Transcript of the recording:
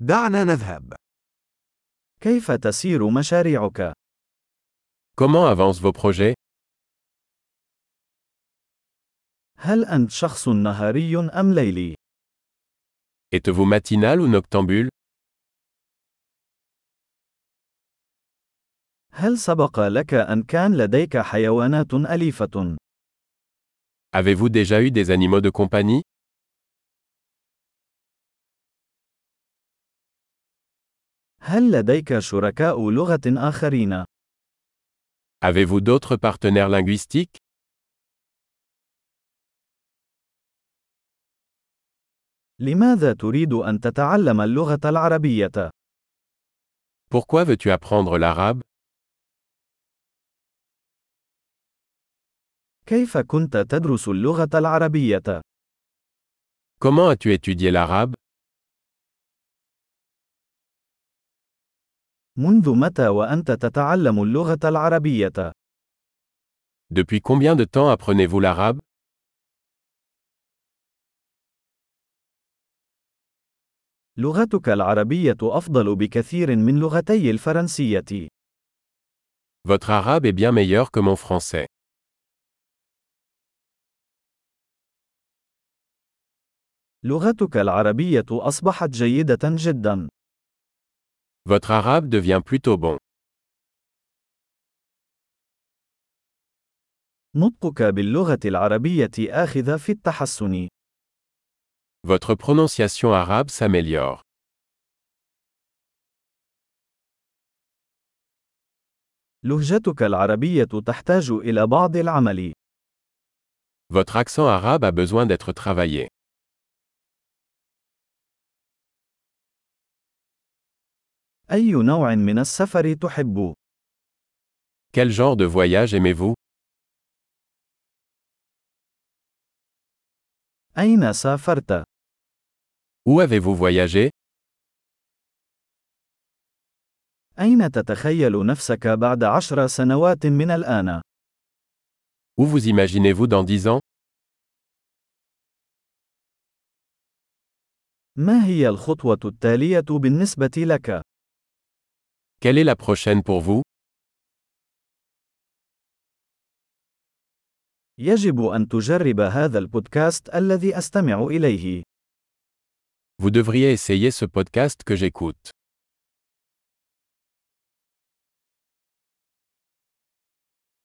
دعنا نذهب. كيف تسير مشاريعك؟ Comment avancent vos projets? هل أنت شخص نهاري أم ليلي؟ Êtes-vous matinal ou noctambule? هل سبق لك أن كان لديك حيوانات أليفة؟ Avez-vous déjà eu des animaux de compagnie? هل لديك شركاء لغة آخرين؟ Avez-vous d'autres partenaires linguistiques? لماذا تريد أن تتعلم اللغة العربية؟ Pourquoi veux-tu apprendre l'arabe? كيف كنت تدرس اللغة العربية؟ Comment as-tu étudié l'arabe? منذ متى وأنت تتعلم اللغة العربية؟ Depuis combien de temps apprenez-vous l'arabe? لغتك العربية أفضل بكثير من لغتي الفرنسية. Votre arabe est bien meilleur que mon français. لغتك العربية أصبحت جيدة جدا. Votre arabe devient plutôt bon. نطقك باللغة العربية آخذ في التحسن. Votre prononciation arabe s'améliore. لهجتك العربية تحتاج إلى بعض العمل. Votre accent arabe a besoin d'être travaillé. أي نوع من السفر تحب؟ Quel genre de voyage aimez-vous? أين سافرت؟ Où avez-vous voyagé? أين تتخيل نفسك بعد 10 سنوات من الآن؟ Où vous imaginez-vous dans 10 ans? ما هي الخطوة التالية بالنسبة لك؟ Quelle est la prochaine pour vous? يجب أن تجرب هذا البودكاست الذي أستمع إليه. Vous devriez essayer ce podcast que j'écoute.